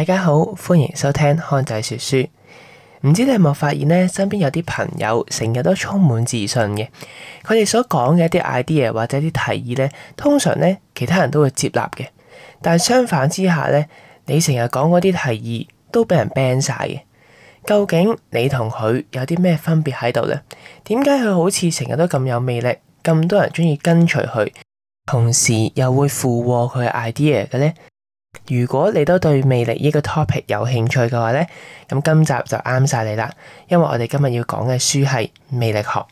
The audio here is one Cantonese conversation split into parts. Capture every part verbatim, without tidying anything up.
家好，歡迎收聽康仔說書。唔知你有冇發現呢？身邊有啲朋友成日都充滿自信嘅，佢哋所講嘅一啲 idea 或者啲提議呢，通常呢其他人都會接納嘅。但相反之下呢，你成日講嗰啲提議都俾人 ban 晒嘅。究竟你同佢有啲咩分別喺度呢？點解佢好似成日都咁有魅力，咁多人中意跟隨佢，同時又會附和佢嘅 idea 嘅呢？如果你都對魅力呢個 topic 有興趣嘅話呢，咁今集就啱晒你啦，因為我哋今日要講嘅書係魅力學。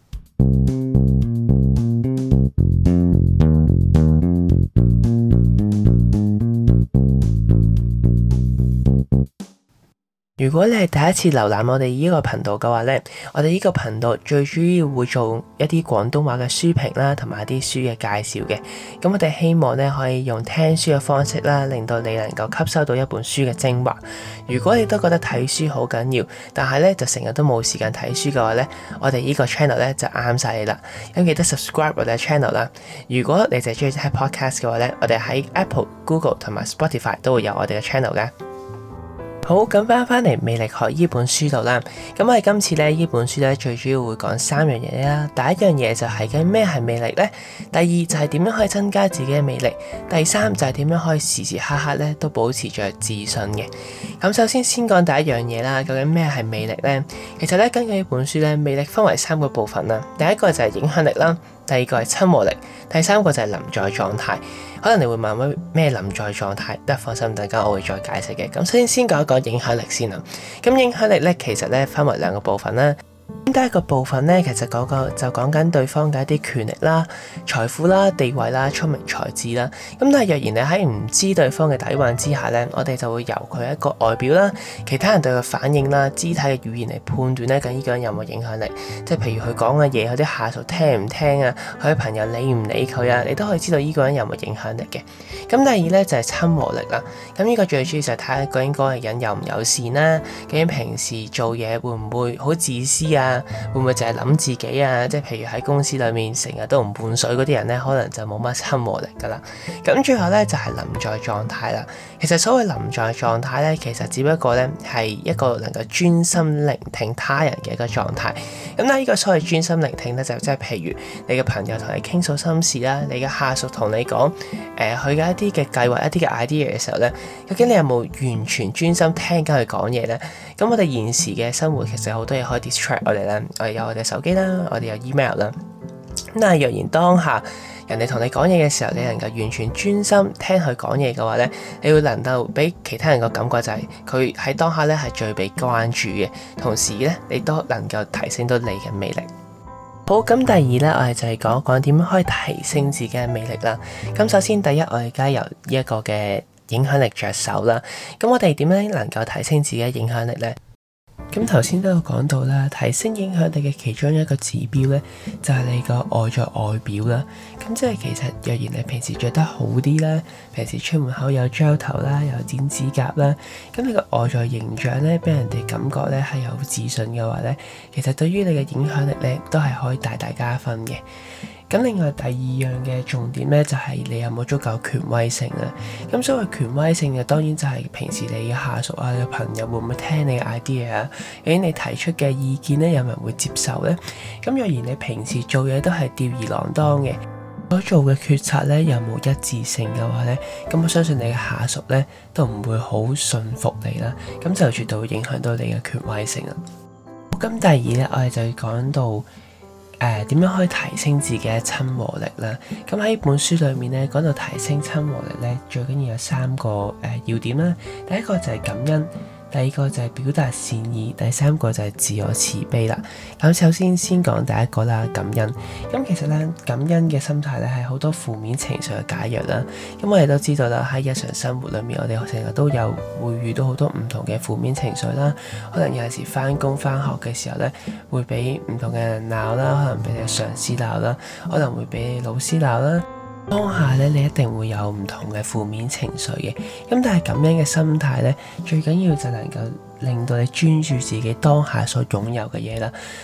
如果你係第一次瀏覽我哋呢個頻道嘅話呢，我哋呢個頻道最主要會做一啲廣東話嘅書評啦，同埋一啲書嘅介紹嘅。咁我哋希望呢可以用聽書嘅方式啦，令到你能夠吸收到一本書嘅精華。如果你都覺得睇書好緊要，但係呢就成日都冇時間睇書嘅話呢，我哋呢個 channel 呢就啱晒你啦。咁記得 subscribe 我哋嘅 channel 啦。如果你就係中意睇 podcast 嘅話呢，我哋喺 Apple、Google 同埋 Spotify 都會有我哋嘅 channel 嘅。好，咁翻返嚟魅力學呢本書度啦。咁我哋今次咧呢本書咧最主要會講三樣嘢啦。第一樣嘢就係嘅咩係魅力呢？第二就係點樣可以增加自己嘅魅力？第三就係點樣可以時時刻刻咧都保持着自信嘅。咁首先先講第一樣嘢啦。究竟咩係魅力呢？其實咧根據呢本書咧，魅力分為三個部分啦。第一個就係影響力啦，第二個係親和力，第三個就係臨在狀態。可能你會問咩咩臨在狀態？得放心，等間我會再解釋嘅。咁首先先講一講影響力先啦。咁影響力咧，其實咧分為兩個部分啦。咁第一個部分咧，其實嗰個就講緊對方嘅一啲權力啦、財富啦、地位啦、聰明才智啦。咁但係若然你喺唔知對方嘅底蘊之下咧，我哋就會由佢一個外表啦、其他人對佢反應啦、肢體嘅語言嚟判斷咧，咁呢個人有冇影響力。即係譬如佢講嘅嘢，佢啲下屬聽唔聽啊，佢嘅朋友理唔理佢啊，你都可以知道呢個人有冇影響力嘅。咁第二咧就係親和力啦。咁呢個最主要就係睇下究竟嗰個人友唔友善啦，究竟平時做嘢會唔會好自私啊？會唔會淨係諗自己啊？即係譬如喺公司裏面成日都唔換水嗰啲人咧，可能就冇乜親和力噶啦。咁最後咧就係臨在狀態啦。其實所謂臨在狀態咧，其實只不過咧係一個能夠專心聆聽他人嘅一個狀態。咁咧呢個所謂專心聆聽咧，就即係譬如你嘅朋友同你傾訴心事啦，你嘅下屬同你講誒佢嘅一啲嘅計劃、一啲嘅 idea 嘅時候咧，究竟你有冇完全專心聽緊佢講嘢咧？咁我哋現時嘅生活其實好多嘢可以 distract 我哋啦，我哋有我哋手機啦，我哋有 email 啦。咁但係若然當下人哋同你講嘢嘅時候，你能夠完全專心聽佢講嘢嘅話咧，你會能夠俾其他人個感覺就係佢喺當下咧係最被關注嘅，同時咧你都能夠提升到你嘅魅力。好，咁第二咧，我哋就係講一講點樣可以提升自己嘅魅力啦。咁首先第一，我哋而家由呢一個嘅影響力着手啦。咁我哋點樣能夠提升自己嘅影響力呢？咁頭先都有講到啦，提升影響力嘅其中一個指標咧，就係你個外在外表啦。咁即係其實若然你平時着得好啲啦，平時出門口有膠頭啦，有剪指甲啦，咁你個外在形象咧，俾人哋感覺咧係有自信嘅話咧，其實對於你嘅影響力咧，都係可以大大加分嘅。咁另外第二樣嘅重點咧，就係你有冇足夠權威性啦。咁所謂權威性嘅，當然就係平時你嘅下屬啊、你嘅朋友會唔會聽你嘅 idea 啊？究竟你提出嘅意見咧，有冇人會接受咧？咁若然你平時做嘢都係吊兒郎當嘅，所做嘅決策咧有冇一致性嘅話咧，咁我相信你嘅下屬咧都唔會好信服你啦。咁就絕對會影響到你嘅權威性啦。咁第二咧，我哋就要講到。誒點樣可以提升自己嘅親和力啦？咁喺本書裏面咧，講到提升親和力咧，最緊要有三個誒、呃、要點啦。第一個就係感恩，第二個就係表達善意，第三個就係自我慈悲啦。咁首先先講第一個啦，感恩。咁其實咧，感恩嘅心態咧係好多負面情緒嘅解藥啦。咁我哋都知道啦，喺日常生活裏面，我哋成日都有會遇到好多唔同嘅負面情緒啦。可能有陣時返工返學嘅時候咧，會俾唔同嘅人鬧啦，可能俾你上司鬧啦，可能會俾你老師鬧啦。當下咧，你一定會有唔同嘅負面情緒嘅。咁但係咁樣嘅心態咧，最緊要就能夠令到你專注自己當下所擁有嘅嘢啦。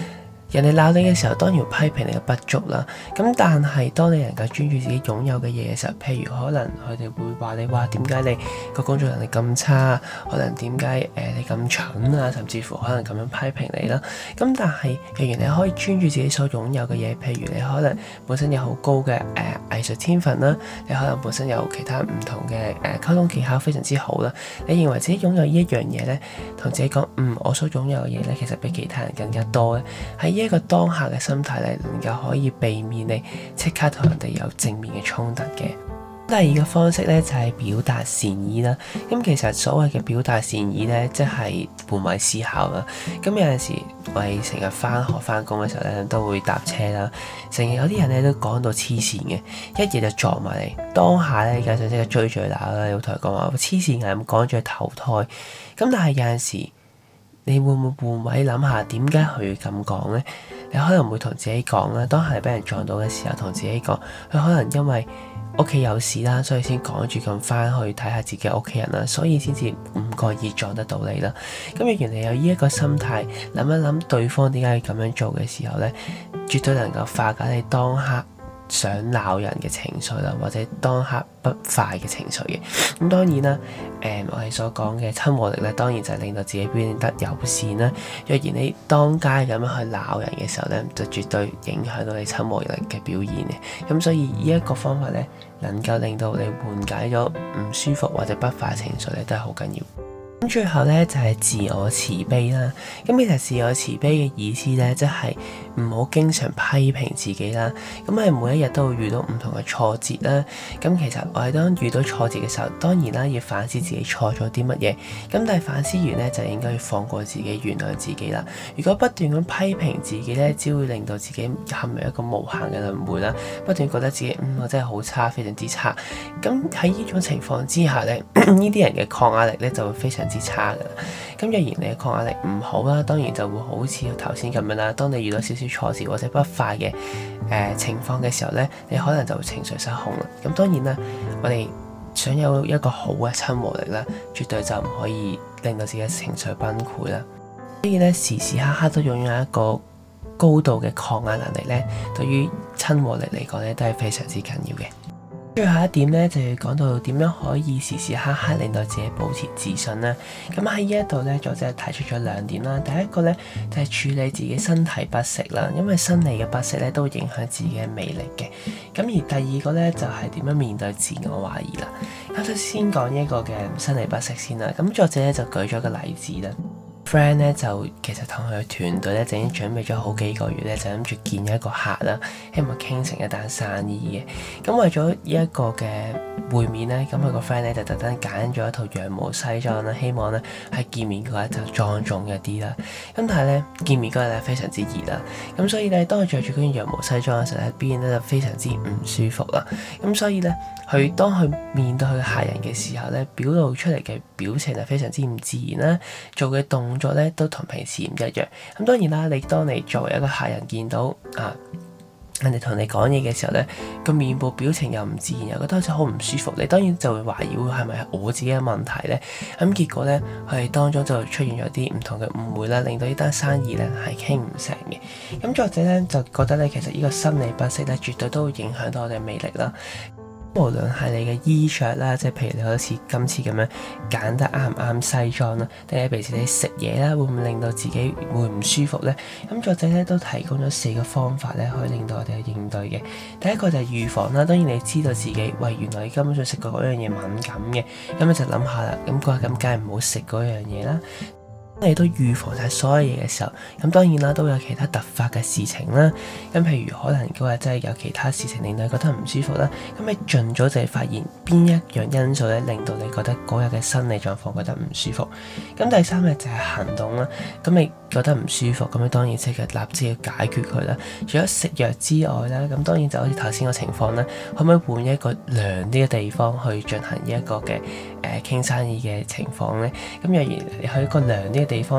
人哋鬧你嘅時候，當然批評你嘅不足啦。咁但係當你能夠專注自己擁有嘅嘢嘅時候，譬如可能佢哋會話你話點解你個工作能力咁差，可能點解誒你咁蠢啊，甚至乎可能咁樣批評你啦。咁但係若然你可以專注自己所擁有嘅嘢，譬如你可能本身有好高嘅誒、呃、藝術天分啦，你可能本身有其他唔同嘅誒溝通技巧非常之好啦。你認為自己擁有呢一樣嘢咧，同自己講嗯，我所擁有嘅嘢咧，其實比其他人更加多咧。喺呢一個當下嘅心態咧，能夠可以避免你即刻同人哋有正面嘅衝突嘅。第二個方式咧就係表達善意啦。咁其實所謂嘅表達善意咧，即係換位思考啦。咁有陣時我哋成日翻學翻工嘅時候咧，都會搭車啦，成日有啲人咧都講到黐線嘅，一嘢就撞埋嚟。當下咧，梗係即刻追住鬧啦，要同佢講話黐線嘅，咁講住投胎。咁但係有陣時，你會唔會換位諗下點解佢咁講咧？你可能會同自己講啦，當係俾人撞到嘅時候，同自己講，佢可能因為屋企有事啦，所以先趕住咁翻去睇下自己屋企人啦，所以先至唔覺意撞得到你啦。咁若然你有呢一個心態，諗一諗對方點解要咁樣做嘅時候咧，絕對能夠化解你當刻想鬧人嘅情緒啦，或者當刻不快嘅情緒嘅。咁當然啦，誒、嗯、我哋所講嘅親和力咧，當然就係令到自己表現得友善啦。若然你當街咁樣去鬧人嘅時候咧，就絕對影響到你親和力嘅表現嘅。咁所以呢一個方法咧，能夠令到你緩解咗唔舒服或者不快情緒咧，都係好緊要。咁最後咧就係自我慈悲啦。咁其實自我慈悲嘅意思咧，即係唔好經常批評自己啦。咁係每一日都會遇到唔同嘅挫折啦。咁其實我哋當遇到挫折嘅時候，當然啦要反思自己錯咗啲乜嘢。咁但係反思完咧，就應該要放過自己，原諒自己啦。如果不斷咁批評自己咧，只會令到自己陷入一個無限嘅輪迴啦。不斷覺得自己嗯我真係好差，非常之差。咁喺呢種情況之下咧，呢啲人嘅抗壓力咧就會非常之差噶啦。咁若然你嘅抗壓力唔好啦，當然就會好似頭先咁樣啦。當你遇到少少挫折或者不快嘅誒、呃、情況嘅時候咧，你可能就會情緒失控啦。咁當然啦，我哋想有一個好嘅親和力啦，絕對就唔可以令到自己嘅情緒崩潰啦。所以咧，時時刻刻都擁有一個高度嘅抗壓能力咧，對於親和力嚟講咧，都係非常之緊要嘅。最後一點咧，就要講到點樣可以時時刻刻令到自己保持自信啦。咁喺呢一度咧，作者提出咗兩點啦。第一個咧就係、是、處理自己身體不適啦，因為生理嘅不適咧都會影響自己嘅魅力嘅。咁而第二個咧就係、是、點樣面對自我懷疑啦。咁首先講呢一個嘅生理不適先啦。咁作者咧就舉咗個例子啦。friend 咧就其實同佢團隊咧就已經準備咗好幾個月咧，就諗住見一個客啦，希望傾成一單生意嘅。咁為咗呢一個嘅會面咧，咁佢個 friend 咧就特登揀咗一套羊毛西裝啦，希望咧喺見面嗰日就莊重一啲啦。咁但係咧見面嗰日咧非常之熱啦，咁所以咧當佢着住嗰件羊毛西裝嘅時候咧，表現得就非常之唔舒服啦。咁所以咧佢當佢面對佢客人嘅時候咧，表露出嚟嘅表情係非常之唔自然啦，做嘅動作咧都同平時唔一樣。咁當然啦，你當你作為一個客人見到啊人哋同你講嘢嘅時候咧，個面部表情又唔自然，又覺得好似好唔舒服，你當然就會懷疑會係咪係我自己嘅問題咧？咁結果咧，佢哋當中就出現咗啲唔同嘅誤會啦，令到呢單生意咧係傾唔成嘅。咁作者咧就覺得咧，其實呢個生理不適咧，絕對都會影響到我哋嘅魅力啦。無論係你嘅衣着啦，即係譬如你好似今次咁樣揀得啱唔啱西裝啦，定係平時你食嘢啦，會唔會令到自己會唔舒服咧？咁作者咧都提供咗四個方法咧，可以令到我哋去應對嘅。第一個就係預防啦，當然你知道自己喂原來你根本上食過嗰樣嘢敏感嘅，咁你就諗下啦，咁嗰日咁梗係唔好食嗰樣嘢啦。當你都預防晒所有嘢嘅時候，咁當然啦，都有其他突發嘅事情啦。咁譬如可能嗰日真係有其他事情令到你覺得唔舒服啦，咁你盡早就係發現邊一樣因素咧，令到你覺得嗰日嘅生理狀況覺得唔舒服。咁第三日就係行動啦。咁你覺得唔舒服，咁你當然即刻立即要解決佢啦。除咗食藥之外啦，咁當然就好似頭先個情況啦，可唔可以換一個涼啲嘅地方去進行呢一個嘅誒傾生意嘅情況咧？咁若然你去一個涼啲嘅地方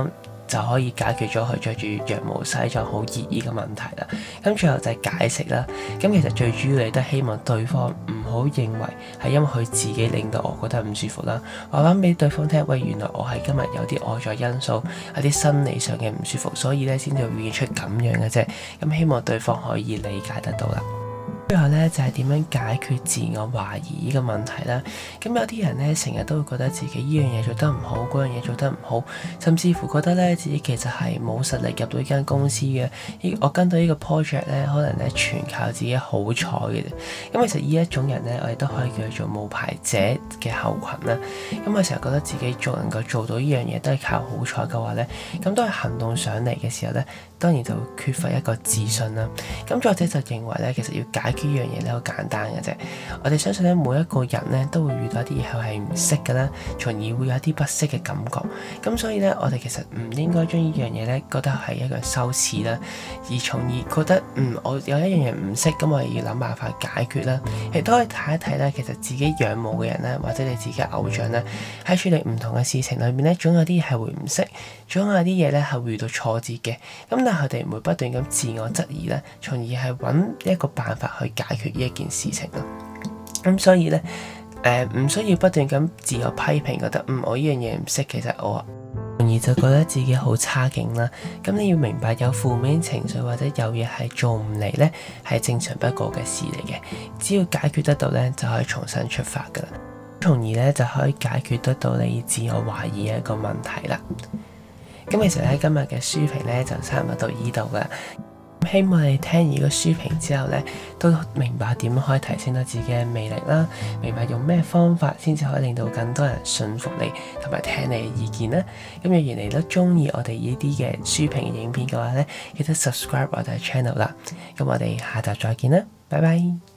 就可以解決咗佢着住羊毛西裝好熱呢個問題啦。咁最後就係解釋啦。咁其實最主要你都希望對方唔好認為係因為佢自己令到我覺得唔舒服啦，話翻俾對方聽，喂，原來我係今日有啲外在因素，有啲生理上嘅唔舒服，所以咧先至會表現出咁樣嘅啫。咁希望對方可以理解得到啦。最後咧就係點樣解決自我懷疑呢個問題啦。咁有啲人咧成日都會覺得自己呢樣嘢做得唔好，嗰樣嘢做得唔好，甚至乎覺得咧自己其實係冇實力入到呢間公司嘅。我跟到呢個 project 咧，可能咧全靠自己好彩嘅啫。咁其實呢一種人咧，我哋都可以叫佢做冒牌者嘅後群啦。咁我成日覺得自己做能夠做到呢樣嘢都係靠好彩嘅話咧，咁當係行動上嚟嘅時候咧，當然就會缺乏一個自信啦。咁作者就認為咧，其實要解決呢樣嘢咧好簡單嘅啫。我哋相信咧，每一個人咧都會遇到一啲嘢係唔識嘅啦，從而會有一啲不適嘅感覺。咁所以咧，我哋其實唔應該將呢樣嘢咧覺得係一個羞恥啦，而從而覺得嗯我有一樣嘢唔識，咁我要諗辦法解決啦。亦都可以睇一睇咧，其實自己仰慕嘅人咧，或者你自己嘅偶像咧，喺處理唔同嘅事情裏面咧，總有啲係會唔識，總有啲嘢咧係會遇到挫折嘅。咁但係佢哋唔會不斷咁自我質疑咧，從而係揾一個辦法去解決呢一件事情咯。咁所以咧，誒、呃、唔需要不斷咁自我批評，覺得嗯我呢樣嘢唔識，其實我從而就覺得自己好差勁啦。咁你要明白，有負面情緒或者有嘢係做唔嚟咧，係正常不過嘅事嚟嘅。只要解決得到咧，就可以重新出發噶啦。從而咧就可以解決得到你自我懷疑嘅一個問題啦。咁其實咧今日嘅書評咧就差唔多到呢度噶。希望你聽完個書評之後咧，都明白點樣可以提升到自己嘅魅力啦，明白用咩方法先至可以令到更多人信服你，同埋聽你嘅意見啦。咁若然你都中意我哋呢啲嘅書評嘅影片嘅話咧，記得 subscribe 我哋嘅 channel 啦。咁我哋下集再見啦，拜拜。